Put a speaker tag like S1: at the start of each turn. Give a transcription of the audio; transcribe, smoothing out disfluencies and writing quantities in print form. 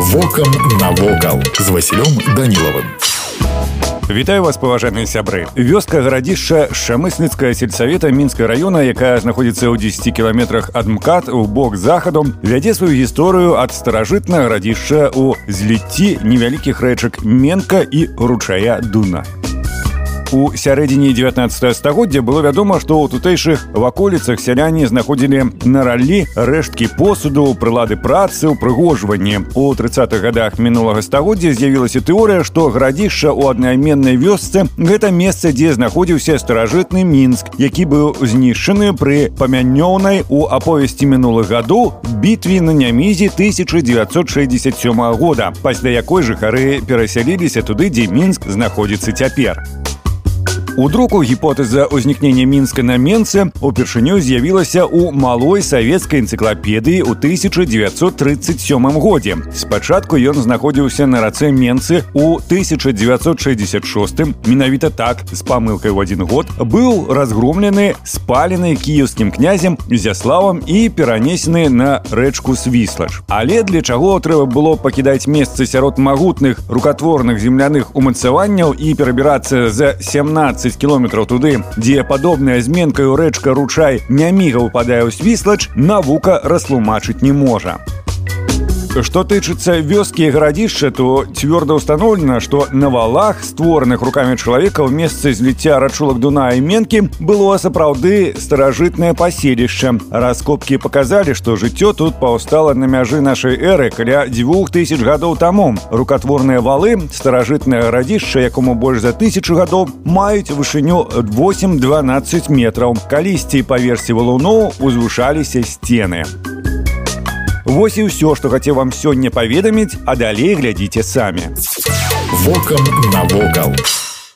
S1: Вокам навокал з Васілём Данілавым.
S2: Вітаю вас, паважаныя сябры. Вёска гарадзішча Шамысніцкага сельсавета Мінскага раёна, якая знаходзіцца ў 10 кіламетрах ад МКАД у бок захаду, вядзе сваю гісторыю ад старажытнага гарадзішча ў зліцці невялікіх рэчак Менка і ручая Дуна. У сярэдзіне 19 стагоддзя было вядома, што ў тутэйшых ваколіцах сяляне знаходзілі на раллі рэшткі посуду, прылады працы, упрыгожванні. У 30-х гадах мінулага стагоддзя з'явілася тэорыя, што гарадзішча ў аднайменнай вёсцы – гэта месца, дзе знаходзіўся старажытны Мінск, які быў знішчаны пры памянёўнай у аповесці мінулых гадоў бітве на Нямізе 1967 года, пасля якой жыхары перасяліліся туды, дзе Мінск знаходзіцца цяпер. У друку гіпотэза ўзнікнення Мінска на Менцы упершыню з'явілася ў малой савецкай энцыклапедыі ў 1937 годзе. Спачатку ён знаходзіўся на рацэ Менцы ў 1966, менавіта так, з памылкай ў 1 год, быў разгромлены, спалены кіеўскім князем Ізяславам і перанесены на рэчку Свіслач. Але для чаго трэба было пакідаць месцы сярод магутных рукатворных земляных умацаванняў і перабірацца за 17 кілометраў туды, дзе падобная з Менкаю рэчка ручай няміга ўпадае ў Свіслач, навука растлумачыць не можа. Што тычыцца вёскі і гарадзішча, то цвёрда ўстаноўлена, што на валах, створаных рукамі чалавека ў месцы зліцця рачулак Дуна і Менкі, было сапраўды старажытнае паселішча. Раскопкі паказалі, што жыццё тут паўстала на мяжы нашай эры каля 2000 гадоў таму. Рукатворныя валы, старажытнае гарадзішча, якому больш за 1000 гадоў, маюць вышыню 8-12 метраў. Калісьці па версе валуноў узвышаліся сцены. Вось і ўсё, што хацеў вам сёння паведаміць, а далей глядзіце самі.
S1: Вокам навокал.